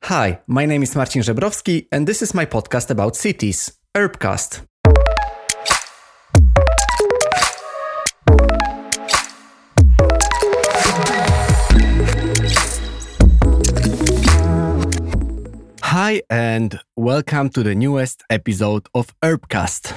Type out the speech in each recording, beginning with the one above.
Hi, my name is Marcin Żebrowski, and this is my podcast about cities, Urbcast. Hi, and welcome to the newest episode of Urbcast.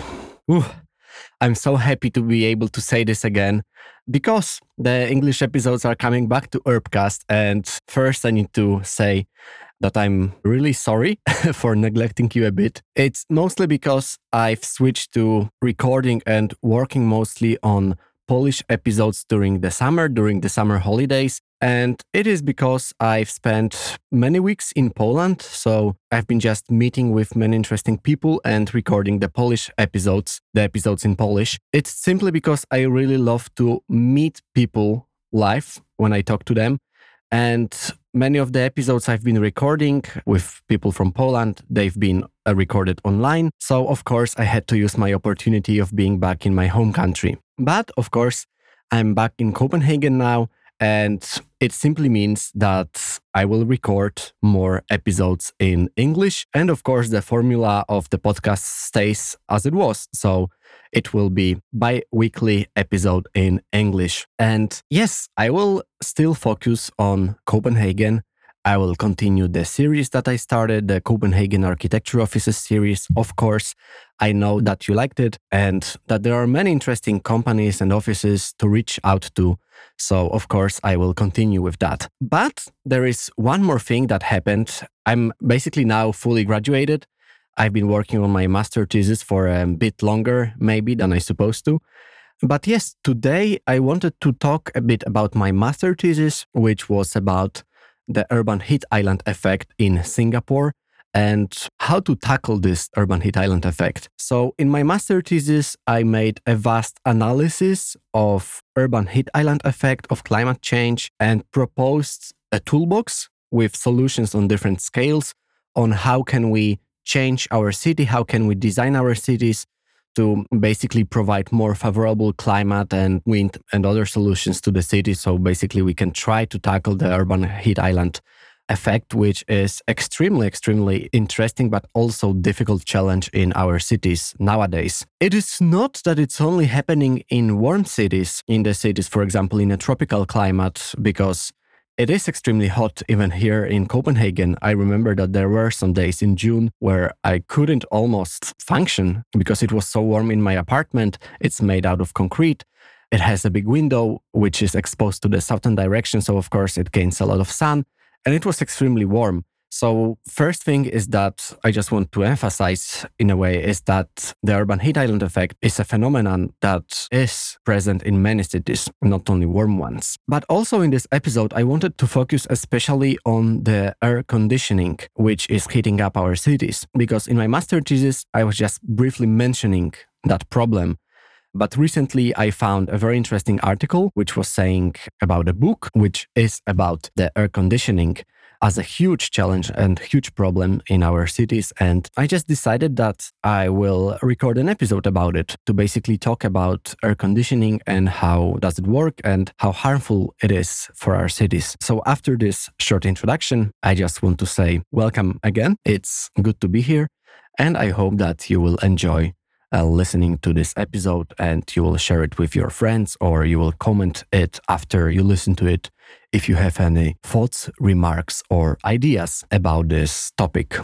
I'm so happy to be able to say this again, because the English episodes are coming back to Urbcast, and first I need to say that I'm really sorry for neglecting you a bit. It's mostly because I've switched to recording and working mostly on Polish episodes during the summer holidays. And it is because I've spent many weeks in Poland, so I've been just meeting with many interesting people and recording the episodes in Polish. It's simply because I really love to meet people live when I talk to them. And many of the episodes I've been recording with people from Poland, they've been recorded online. So, of course, I had to use my opportunity of being back in my home country. But, of course, I'm back in Copenhagen now, and it simply means that I will record more episodes in English. And, of course, the formula of the podcast stays as it was. So it will be bi-weekly episode in English. And yes, I will still focus on Copenhagen. I will continue the series that I started, the Copenhagen Architecture Offices series. Of course, I know that you liked it and that there are many interesting companies and offices to reach out to. So, of course, I will continue with that. But there is one more thing that happened. I'm basically now fully graduated. I've been working on my master thesis for a bit longer, maybe, than I supposed to. But yes, today I wanted to talk a bit about my master thesis, which was about the urban heat island effect in Singapore and how to tackle this urban heat island effect. So in my master thesis, I made a vast analysis of urban heat island effect of climate change and proposed a toolbox with solutions on different scales on how can we change our city, how can we design our cities to basically provide more favorable climate and wind and other solutions to the city. So basically we can try to tackle the urban heat island effect, which is extremely interesting, but also difficult challenge in our cities nowadays. It is not that it's only happening in warm cities, for example, in a tropical climate, because it is extremely hot even here in Copenhagen. I remember that there were some days in June where I couldn't almost function because it was so warm in my apartment. It's made out of concrete. It has a big window which is exposed to the southern direction, so of course it gains a lot of sun, and it was extremely warm. So first thing is that I just want to emphasize in a way is that the urban heat island effect is a phenomenon that is present in many cities, not only warm ones. But also in this episode, I wanted to focus especially on the air conditioning, which is heating up our cities. Because in my master thesis, I was just briefly mentioning that problem. But recently I found a very interesting article which was saying about a book which is about the air conditioning as a huge challenge and huge problem in our cities. And I just decided that I will record an episode about it to basically talk about air conditioning and how does it work and how harmful it is for our cities. So after this short introduction, I just want to say welcome again. It's good to be here. And I hope that you will enjoy listening to this episode and you will share it with your friends or you will comment it after you listen to it if you have any thoughts, remarks, or ideas about this topic.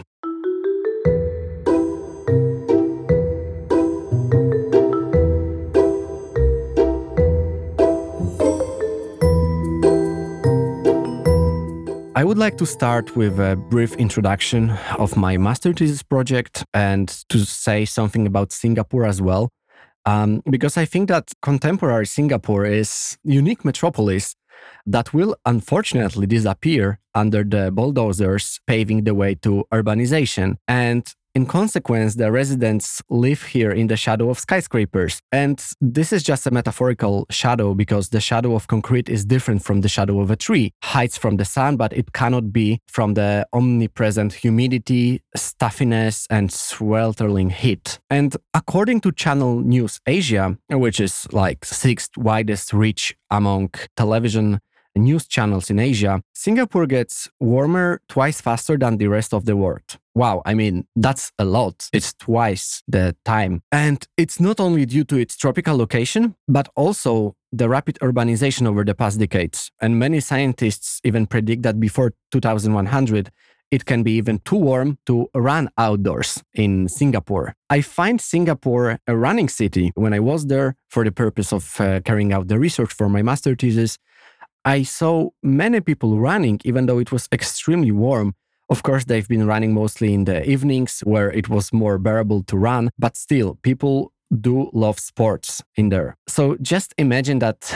I would like to start with a brief introduction of my master thesis project and to say something about Singapore as well, because I think that contemporary Singapore is a unique metropolis that will unfortunately disappear under the bulldozers paving the way to urbanization. And in consequence, the residents live here in the shadow of skyscrapers. And this is just a metaphorical shadow because the shadow of concrete is different from the shadow of a tree. Hides from the sun, but it cannot be from the omnipresent humidity, stuffiness, and sweltering heat. And according to Channel News Asia, which is like sixth widest reach among television news channels in Asia, Singapore gets warmer twice faster than the rest of the world. Wow, I mean, that's a lot. It's twice the time. And it's not only due to its tropical location, but also the rapid urbanization over the past decades. And many scientists even predict that before 2100, it can be even too warm to run outdoors in Singapore. I find Singapore a running city. When I was there for the purpose of carrying out the research for my master thesis, I saw many people running, even though it was extremely warm. Of course, they've been running mostly in the evenings where it was more bearable to run, but still, people do love sports in there. So just imagine that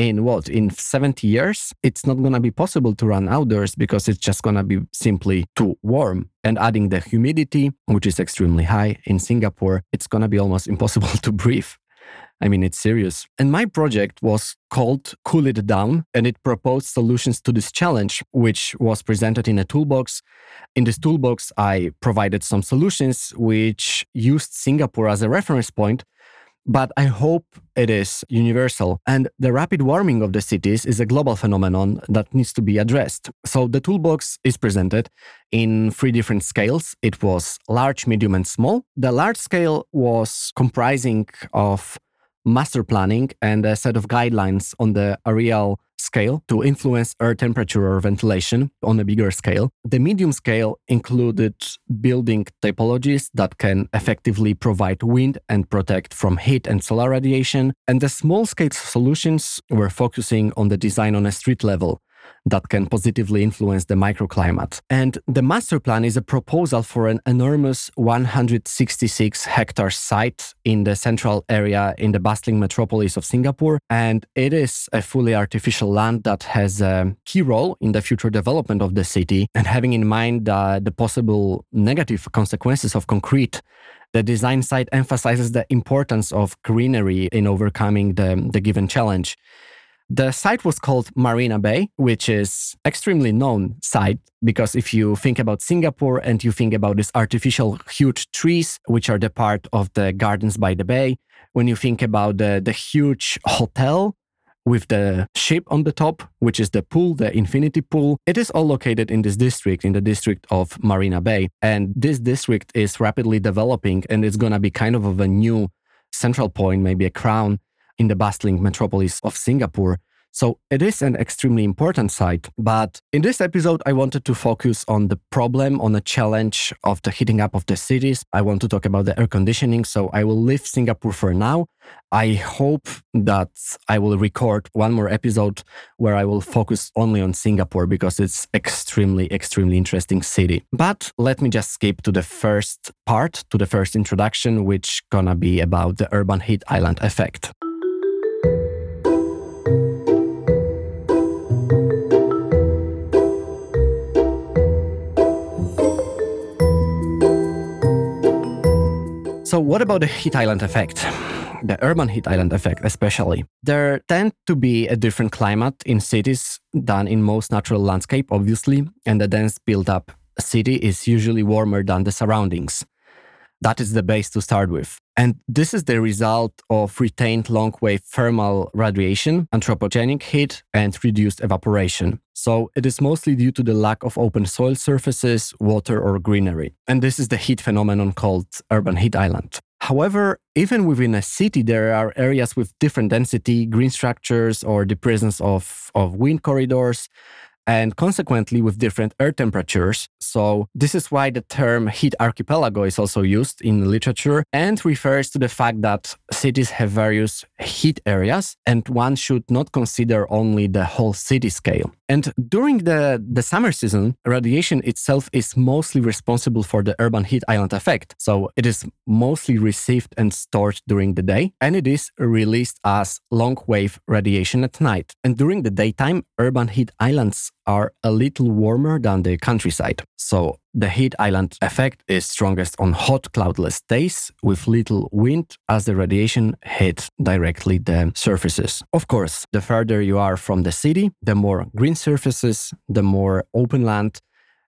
in 70 years, it's not going to be possible to run outdoors because it's just going to be simply too warm. And adding the humidity, which is extremely high in Singapore, it's going to be almost impossible to breathe. I mean, it's serious. And my project was called Cool It Down, and it proposed solutions to this challenge, which was presented in a toolbox. In this toolbox, I provided some solutions which used Singapore as a reference point, but I hope it is universal. And the rapid warming of the cities is a global phenomenon that needs to be addressed. So the toolbox is presented in 3 different scales. It was large, medium, and small. The large scale was comprising of master planning and a set of guidelines on the areal scale to influence air temperature or ventilation on a bigger scale. The medium scale included building typologies that can effectively provide wind and protect from heat and solar radiation. And the small scale solutions were focusing on the design on a street level that can positively influence the microclimate. And the master plan is a proposal for an enormous 166 hectare site in the central area in the bustling metropolis of Singapore. And it is a fully artificial land that has a key role in the future development of the city. And having in mind the possible negative consequences of concrete, the design site emphasizes the importance of greenery in overcoming the given challenge. The site was called Marina Bay, which is extremely known site because if you think about Singapore and you think about these artificial huge trees, which are the part of the gardens by the bay, when you think about the huge hotel with the ship on the top, which is the pool, the infinity pool, it is all located in this district, in the district of Marina Bay. And this district is rapidly developing and it's going to be kind of a new central point, maybe a crown in the bustling metropolis of Singapore. So it is an extremely important site. But in this episode, I wanted to focus on the problem, on the challenge of the heating up of the cities. I want to talk about the air conditioning. So I will leave Singapore for now. I hope that I will record one more episode where I will focus only on Singapore because it's extremely interesting city. But let me just skip to the first part, to the first introduction, which gonna be about the urban heat island effect. So what about the heat island effect? The urban heat island effect especially. There tend to be a different climate in cities than in most natural landscape, obviously, and the dense built-up city is usually warmer than the surroundings. That is the base to start with. And this is the result of retained long-wave thermal radiation, anthropogenic heat, and reduced evaporation. So it is mostly due to the lack of open soil surfaces, water, or greenery. And this is the heat phenomenon called urban heat island. However, even within a city, there are areas with different density, green structures, or the presence of wind corridors, and consequently with different air temperatures. So this is why the term heat archipelago is also used in literature and refers to the fact that cities have various heat areas and one should not consider only the whole city scale. And during the summer season, radiation itself is mostly responsible for the urban heat island effect. So it is mostly received and stored during the day, and it is released as long-wave radiation at night. And during the daytime, urban heat islands are a little warmer than the countryside. So the heat island effect is strongest on hot, cloudless days with little wind as the radiation hits directly the surfaces. Of course, the further you are from the city, the more green surfaces, the more open land,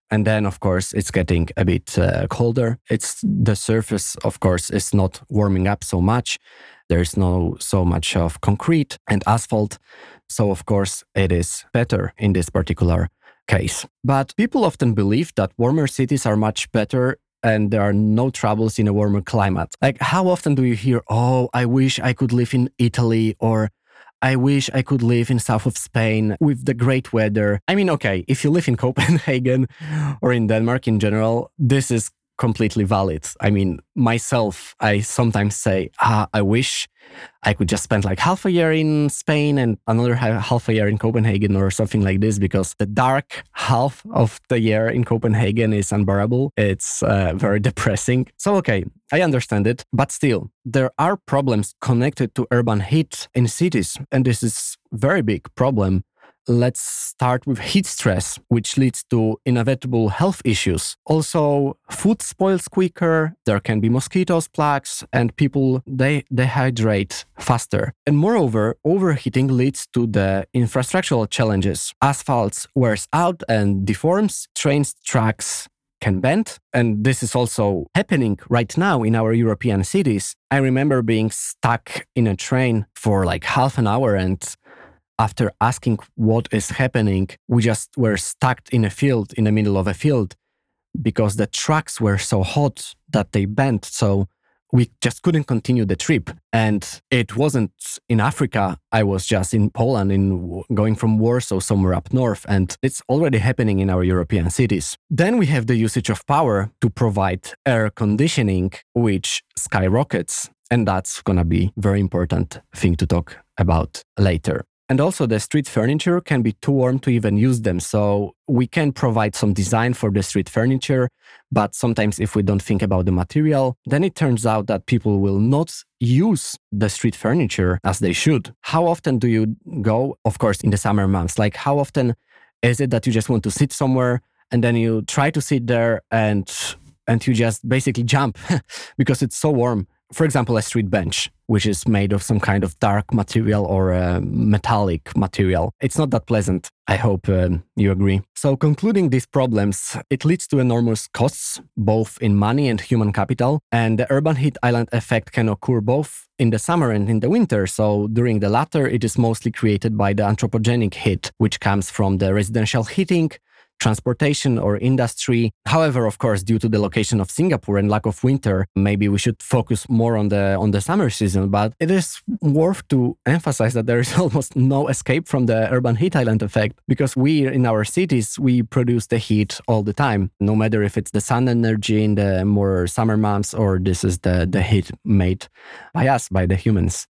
And then, of course, it's getting a bit colder. The surface, of course, is not warming up so much. There's no so much of concrete and asphalt. So, of course, it is better in this particular case. But people often believe that warmer cities are much better and there are no troubles in a warmer climate. Like, how often do you hear, oh, I wish I could live in Italy, or I wish I could live in south of Spain with the great weather. I mean, okay, if you live in Copenhagen or in Denmark in general, this is completely valid. I mean, myself, I sometimes say, I wish I could just spend like half a year in Spain and another half a year in Copenhagen or something like this, because the dark half of the year in Copenhagen is unbearable. It's very depressing. So, okay, I understand it, but still, there are problems connected to urban heat in cities, and this is a very big problem. Let's start with heat stress, which leads to inevitable health issues. Also, food spoils quicker, there can be mosquitoes, plagues, and people, they dehydrate faster. And moreover, overheating leads to the infrastructural challenges. Asphalt wears out and deforms, trains, tracks can bend. And this is also happening right now in our European cities. I remember being stuck in a train for like half an hour, and after asking what is happening, we just were stuck in a field, in the middle of a field, because the tracks were so hot that they bent. So we just couldn't continue the trip. And it wasn't in Africa. I was just in Poland, going from Warsaw somewhere up north. And it's already happening in our European cities. Then we have the usage of power to provide air conditioning, which skyrockets. And that's going to be a very important thing to talk about later. And also the street furniture can be too warm to even use them. So we can provide some design for the street furniture, but sometimes if we don't think about the material, then it turns out that people will not use the street furniture as they should. How often do you go, of course, in the summer months? Like, how often is it that you just want to sit somewhere and then you try to sit there and you just basically jump because it's so warm? For example, a street bench, which is made of some kind of dark material or a metallic material. It's not that pleasant. I hope you agree. So concluding these problems, it leads to enormous costs, both in money and human capital. And the urban heat island effect can occur both in the summer and in the winter. So during the latter, it is mostly created by the anthropogenic heat, which comes from the residential heating, transportation or industry. However, of course, due to the location of Singapore and lack of winter, maybe we should focus more on the summer season. But it is worth to emphasize that there is almost no escape from the urban heat island effect, because we in our cities, we produce the heat all the time, no matter if it's the sun energy in the more summer months or this is the heat made by us, by the humans.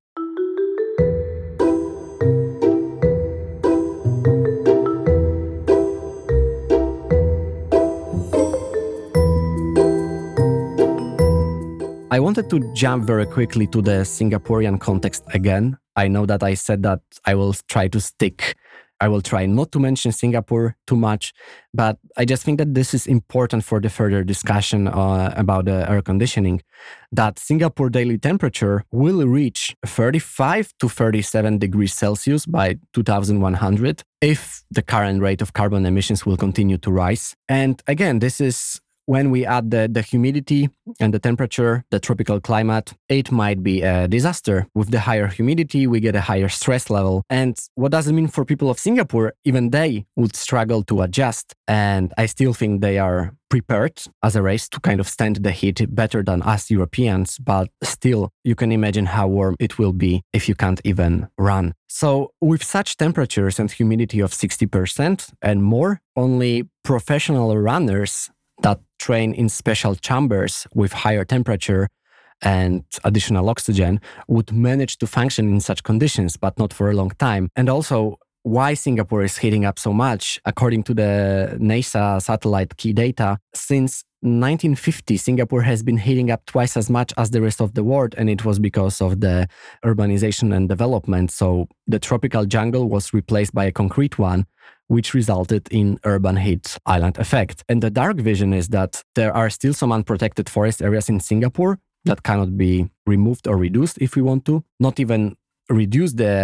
I wanted to jump very quickly to the Singaporean context again. I know that I said that I will try not to mention Singapore too much, but I just think that this is important for the further discussion about the air conditioning, that Singapore daily temperature will reach 35 to 37 degrees Celsius by 2100 if the current rate of carbon emissions will continue to rise. And again, this is when we add the humidity and the temperature, the tropical climate, it might be a disaster. With the higher humidity, we get a higher stress level. And what does it mean for people of Singapore? Even they would struggle to adjust. And I still think they are prepared as a race to kind of stand the heat better than us Europeans. But still, you can imagine how warm it will be if you can't even run. So with such temperatures and humidity of 60% and more, only professional runners that train in special chambers with higher temperature and additional oxygen would manage to function in such conditions, but not for a long time. And also, why Singapore is heating up so much, according to the NASA satellite key data, since 1950, Singapore has been heating up twice as much as the rest of the world, and it was because of the urbanization and development. So the tropical jungle was replaced by a concrete one, which resulted in urban heat island effect. And the dark vision is that there are still some unprotected forest areas in Singapore that cannot be removed or reduced if we want to. Not even reduce the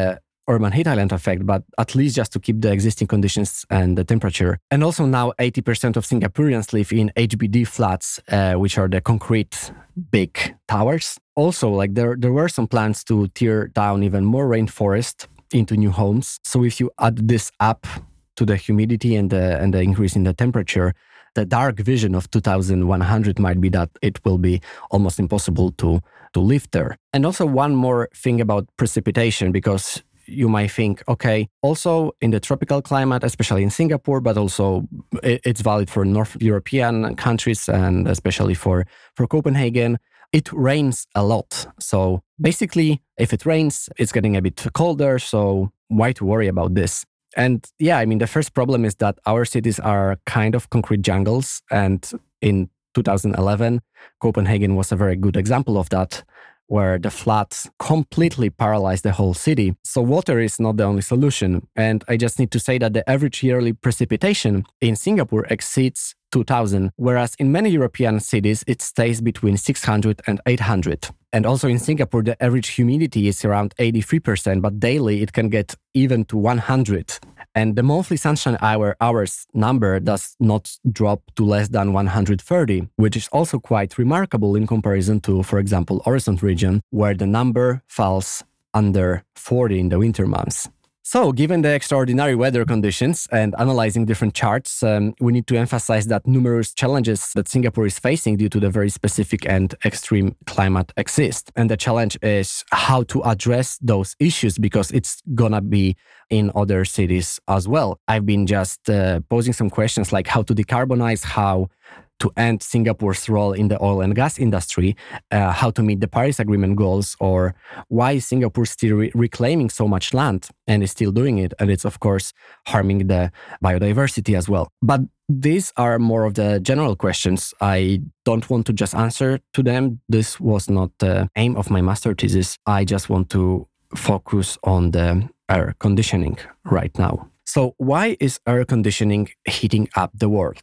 urban heat island effect, but at least just to keep the existing conditions and the temperature. And also now 80% of Singaporeans live in HBD flats, which are the concrete big towers. Also, like there were some plans to tear down even more rainforest into new homes. So if you add this up to the humidity and the increase in the temperature, the dark vision of 2100 might be that it will be almost impossible to live there. And also one more thing about precipitation, because you might think, okay, also in the tropical climate, especially in Singapore, but also it's valid for North European countries and especially for Copenhagen, it rains a lot. So basically, if it rains, it's getting a bit colder. So why to worry about this? And yeah, I mean, the first problem is that our cities are kind of concrete jungles. And in 2011, Copenhagen was a very good example of that, where the floods completely paralyzed the whole city. So water is not the only solution. And I just need to say that the average yearly precipitation in Singapore exceeds 2000, whereas in many European cities, it stays between 600 and 800. And also in Singapore, the average humidity is around 83%, but daily it can get even to 100. And the monthly sunshine hours number does not drop to less than 130, which is also quite remarkable in comparison to, for example, Horizon region, where the number falls under 40 in the winter months. So, given the extraordinary weather conditions and analyzing different charts, we need to emphasize that numerous challenges that Singapore is facing due to the very specific and extreme climate exist. And the challenge is how to address those issues, because it's gonna be in other cities as well. I've been just posing some questions like how to decarbonize, how to end Singapore's role in the oil and gas industry, how to meet the Paris Agreement goals, or why is Singapore still reclaiming so much land and is still doing it. And it's, of course, harming the biodiversity as well. But these are more of the general questions. I don't want to just answer to them. This was not the aim of my master thesis. I just want to focus on the air conditioning right now. So why is air conditioning heating up the world?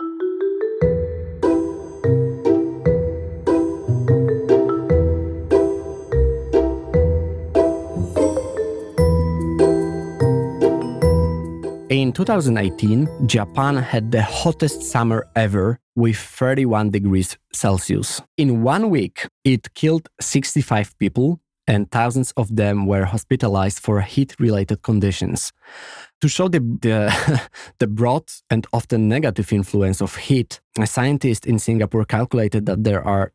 In 2018, Japan had the hottest summer ever with 31 degrees Celsius. In 1 week, it killed 65 people and thousands of them were hospitalized for heat-related conditions. To show the broad and often negative influence of heat, a scientist in Singapore calculated that there are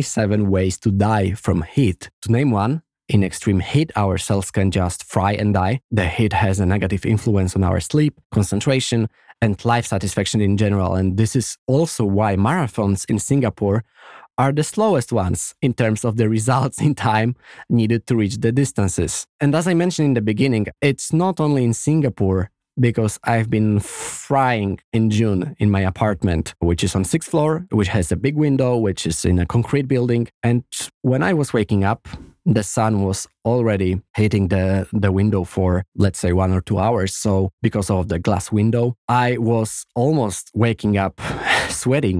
27 ways to die from heat. To name one, in extreme heat, our cells can just fry and die. The heat has a negative influence on our sleep, concentration, and life satisfaction in general. And this is also why marathons in Singapore are the slowest ones in terms of the results in time needed to reach the distances. And as I mentioned in the beginning, it's not only in Singapore, because I've been frying in June in my apartment, which is on 6th floor, which has a big window, which is in a concrete building. And when I was waking up, the sun was already hitting the window for, let's say, 1 or 2 hours. So because of the glass window, I was almost waking up sweating.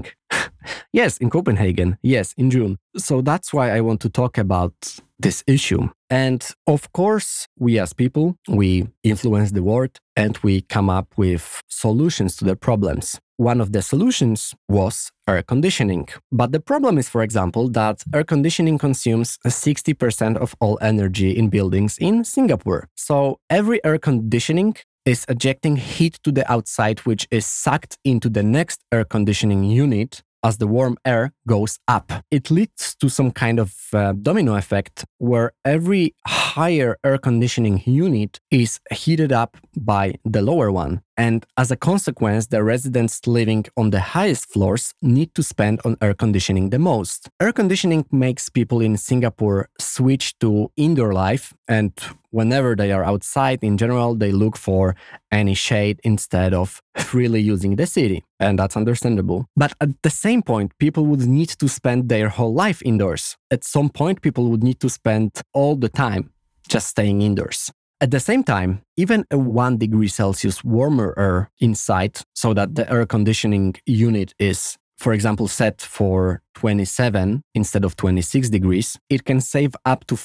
Yes, in Copenhagen. Yes, in June. So that's why I want to talk about this issue. And of course, we as people, we influence the world and we come up with solutions to the problems. One of the solutions was air conditioning. But the problem is, for example, that air conditioning consumes 60% of all energy in buildings in Singapore. So every air conditioning is ejecting heat to the outside, which is sucked into the next air conditioning unit as the warm air goes up. It leads to some kind of domino effect where every higher air conditioning unit is heated up by the lower one. And as a consequence, the residents living on the highest floors need to spend on air conditioning the most. Air conditioning makes people in Singapore switch to indoor life, and whenever they are outside, in general, they look for any shade instead of freely using the city. And that's understandable. But at the same point, people would need to spend their whole life indoors. At some point, people would need to spend all the time just staying indoors. At the same time, even a 1 degree Celsius warmer air inside, so that the air conditioning unit is for example, set for 27 instead of 26 degrees, it can save up to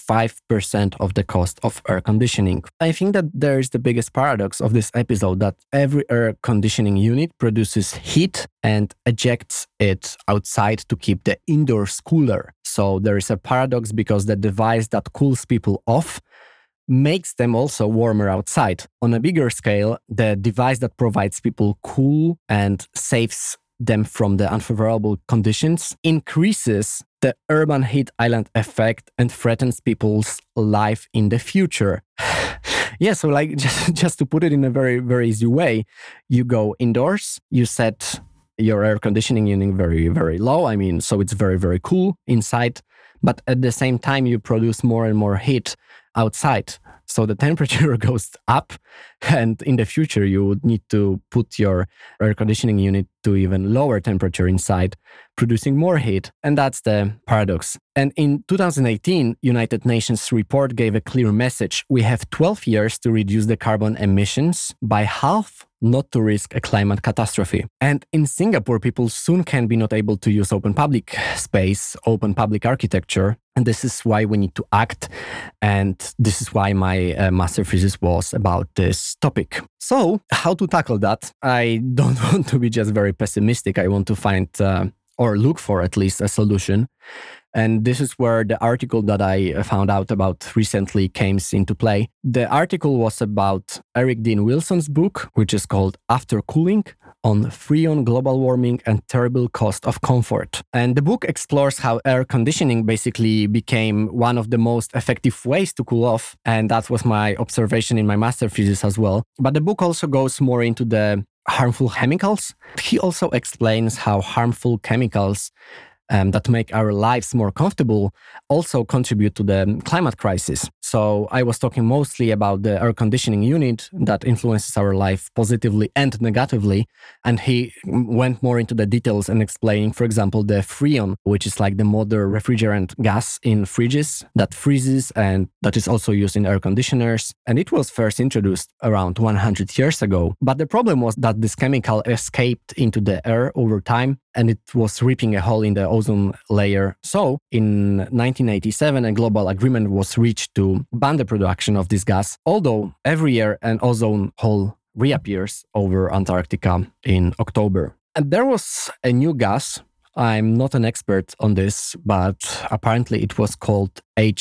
5% of the cost of air conditioning. I think that there is the biggest paradox of this episode, that every air conditioning unit produces heat and ejects it outside to keep the indoors cooler. So there is a paradox, because the device that cools people off makes them also warmer outside. On a bigger scale, the device that provides people cool and saves them from the unfavorable conditions increases the urban heat island effect and threatens people's life in the future. Yeah, so like just to put it in a very, very easy way, you go indoors, you set your air conditioning unit very, very low. I mean, so it's very, very cool inside, but at the same time, you produce more and more heat outside. So the temperature goes up, and in the future, you would need to put your air conditioning unit to even lower temperature inside, producing more heat. And that's the paradox. And in 2018, United Nations report gave a clear message. We have 12 years to reduce the carbon emissions by half, not to risk a climate catastrophe. And in Singapore, people soon can be not able to use open public space, open public architecture. And this is why we need to act. And this is why my master thesis was about this topic. So how to tackle that? I don't want to be just very pessimistic. I want to find or look for at least a solution. And this is where the article that I found out about recently came into play. The article was about Eric Dean Wilson's book, which is called After Cooling, on Freon, Global Warming, and Terrible Cost of Comfort. And the book explores how air conditioning basically became one of the most effective ways to cool off. And that was my observation in my master thesis as well. But the book also goes more into the harmful chemicals. He also explains how harmful chemicals that make our lives more comfortable also contribute to the climate crisis. So I was talking mostly about the air conditioning unit that influences our life positively and negatively. And he went more into the details and explaining, for example, the Freon, which is like the modern refrigerant gas in fridges that freezes and that is also used in air conditioners. And it was first introduced around 100 years ago. But the problem was that this chemical escaped into the air over time, and it was ripping a hole in the ozone layer. So in 1987, a global agreement was reached to ban the production of this gas, although every year an ozone hole reappears over Antarctica in October. And there was a new gas. I'm not an expert on this, but apparently it was called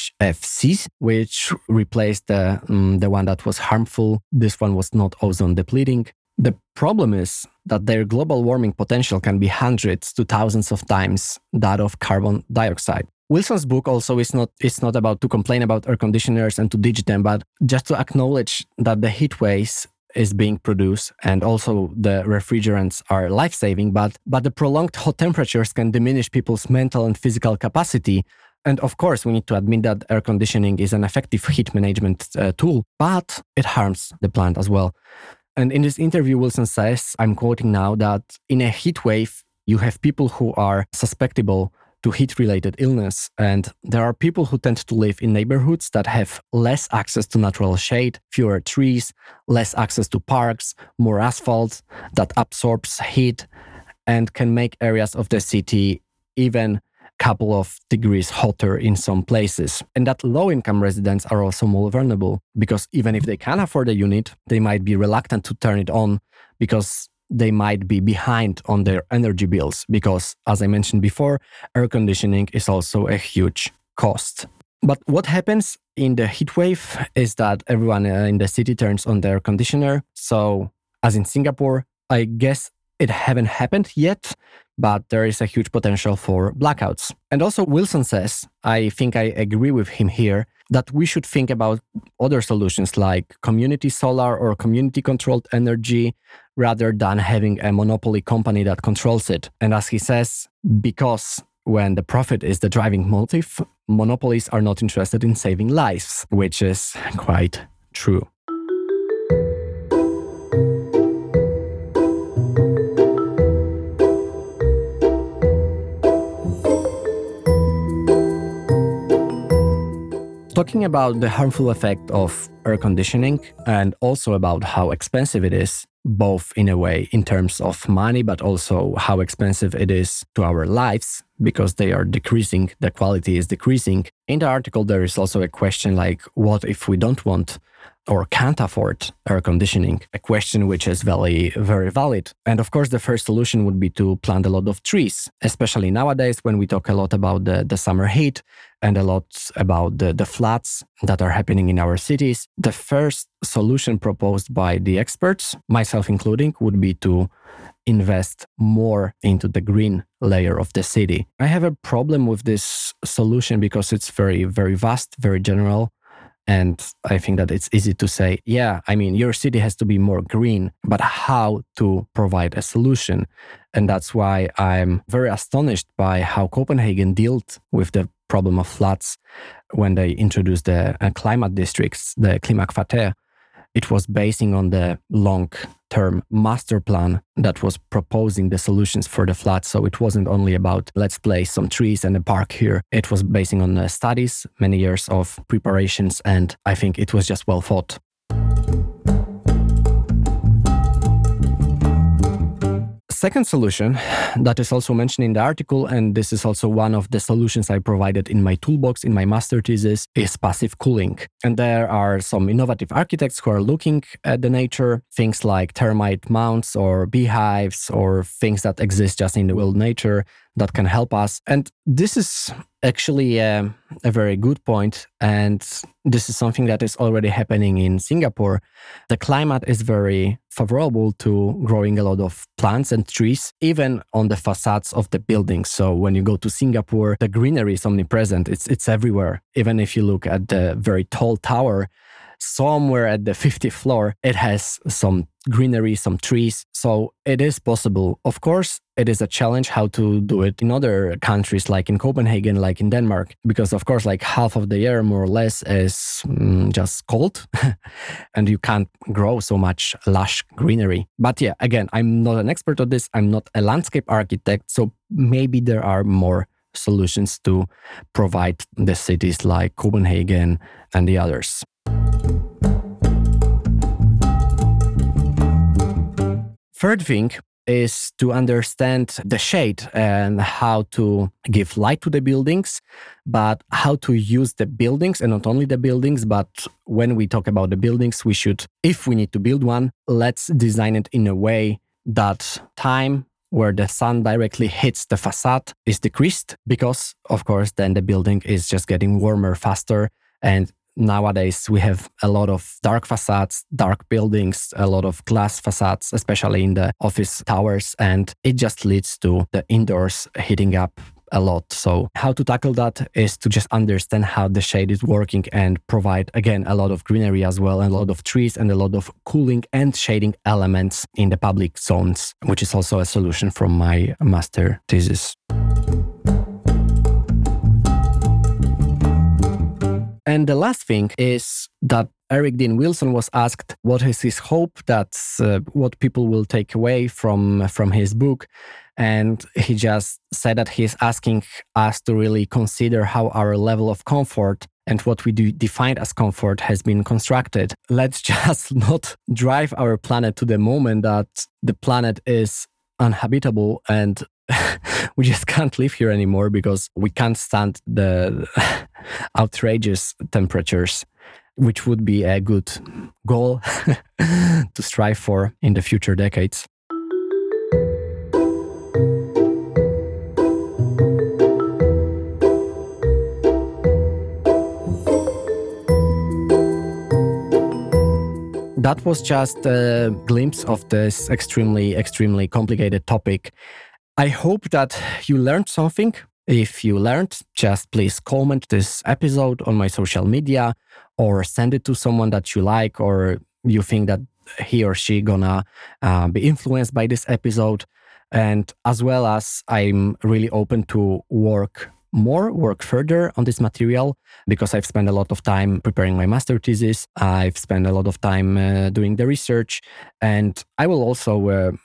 HFC, which replaced the one that was harmful. This one was not ozone depleting. The problem is that their global warming potential can be hundreds to thousands of times that of carbon dioxide. Wilson's book also is not about to complain about air conditioners and to ditch them, but just to acknowledge that the heat waves is being produced and also the refrigerants are life-saving, but the prolonged hot temperatures can diminish people's mental and physical capacity. And of course, we need to admit that air conditioning is an effective heat management tool, but it harms the plant as well. And in this interview, Wilson says, I'm quoting now, that in a heat wave, you have people who are susceptible to heat-related illness. And there are people who tend to live in neighborhoods that have less access to natural shade, fewer trees, less access to parks, more asphalt that absorbs heat and can make areas of the city even couple of degrees hotter in some places. And that low-income residents are also more vulnerable because even if they can afford a unit, they might be reluctant to turn it on because they might be behind on their energy bills because, as I mentioned before, air conditioning is also a huge cost. But what happens in the heat wave is that everyone in the city turns on their air conditioner. So, as in Singapore, I guess it haven't happened yet, but there is a huge potential for blackouts. And also Wilson says, I think I agree with him here, that we should think about other solutions like community solar or community-controlled energy rather than having a monopoly company that controls it. And as he says, because when the profit is the driving motive, monopolies are not interested in saving lives, which is quite true. Talking about the harmful effect of air conditioning and also about how expensive it is, both in a way in terms of money, but also how expensive it is to our lives because they are decreasing, the quality is decreasing. In the article, there is also a question like, what if we don't want or can't afford air conditioning? A question which is very, very valid. And of course, the first solution would be to plant a lot of trees, especially nowadays when we talk a lot about the summer heat and a lot about the floods that are happening in our cities. The first solution proposed by the experts, myself including, would be to invest more into the green layer of the city. I have a problem with this solution because it's very, very vast, very general. And I think that it's easy to say, yeah, I mean, your city has to be more green, but how to provide a solution? And that's why I'm very astonished by how Copenhagen dealt with the problem of floods when they introduced the climate districts, the Klimakvarter. It was basing on the long-term master plan that was proposing the solutions for the floods. So it wasn't only about let's place some trees and a park here. It was basing on studies, many years of preparations, and I think it was just well thought. Second solution that is also mentioned in the article, and this is also one of the solutions I provided in my toolbox in my master thesis, is passive cooling. And there are some innovative architects who are looking at the nature, things like termite mounds or beehives or things that exist just in the wild nature that can help us. And this is actually a very good point. And this is something that is already happening in Singapore. The climate is very favorable to growing a lot of plants and trees, even on the facades of the buildings. So when you go to Singapore, the greenery is omnipresent. It's everywhere. Even if you look at the very tall tower, somewhere at the 50th floor, it has some greenery, some trees. So it is possible. Of course, it is a challenge how to do it in other countries, like in Copenhagen, like in Denmark, because of course, like half of the year, more or less, is just cold and you can't grow so much lush greenery. But yeah, again, I'm not an expert on this. I'm not a landscape architect. So maybe there are more solutions to provide the cities like Copenhagen and the others. Third thing is to understand the shade and how to give light to the buildings, but how to use the buildings, and not only the buildings, but when we talk about the buildings, we should, if we need to build one, let's design it in a way that time where the sun directly hits the facade is decreased, because of course then the building is just getting warmer faster. And nowadays, we have a lot of dark facades, dark buildings, a lot of glass facades, especially in the office towers, and it just leads to the indoors heating up a lot. So how to tackle that is to just understand how the shade is working and provide, again, a lot of greenery as well, and a lot of trees and a lot of cooling and shading elements in the public zones, which is also a solution from my master thesis. And the last thing is that Eric Dean Wilson was asked what is his hope, that's what people will take away from his book. And he just said that he's asking us to really consider how our level of comfort and what we do define as comfort has been constructed. Let's just not drive our planet to the moment that the planet is uninhabitable and we just can't live here anymore because we can't stand the outrageous temperatures, which would be a good goal to strive for in the future decades. That was just a glimpse of this extremely, extremely complicated topic. I hope that you learned something. If you learned, just please comment this episode on my social media or send it to someone that you like or you think that he or she gonna be influenced by this episode. And as well as I'm really open to work further on this material because I've spent a lot of time preparing my master thesis. I've spent a lot of time doing the research, and I will also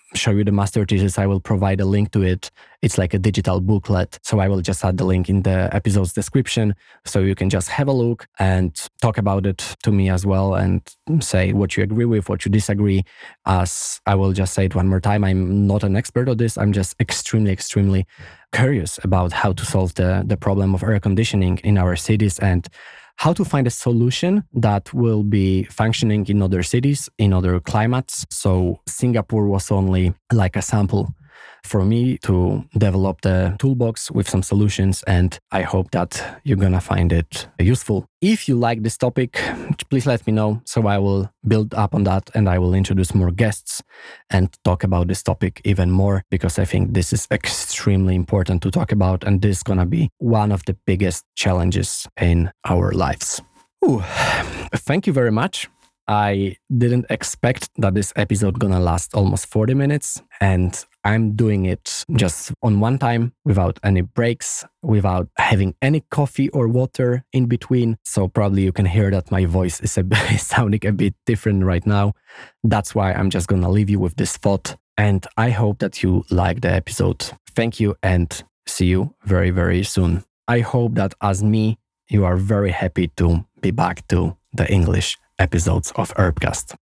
show you the master thesis, I will provide a link to it. It's like a digital booklet. So I will just add the link in the episode's description. So you can just have a look and talk about it to me as well and say what you agree with, what you disagree. As I will just say it one more time, I'm not an expert on this. I'm just extremely curious about how to solve the problem of air conditioning in our cities and how to find a solution that will be functioning in other cities, in other climates. So Singapore was only like a sample for me to develop the toolbox with some solutions, and I hope that you're gonna find it useful. If you like this topic, please let me know so I will build up on that and I will introduce more guests and talk about this topic even more, because I think this is extremely important to talk about and this is gonna be one of the biggest challenges in our lives. Thank you very much. I didn't expect that this episode gonna last almost 40 minutes, and I'm doing it just on one time without any breaks, without having any coffee or water in between. So probably you can hear that my voice is sounding a bit different right now. That's why I'm just gonna leave you with this thought, and I hope that you like the episode. Thank you and see you very soon. I hope that as me, you are very happy to be back to the English episodes of Herbcast.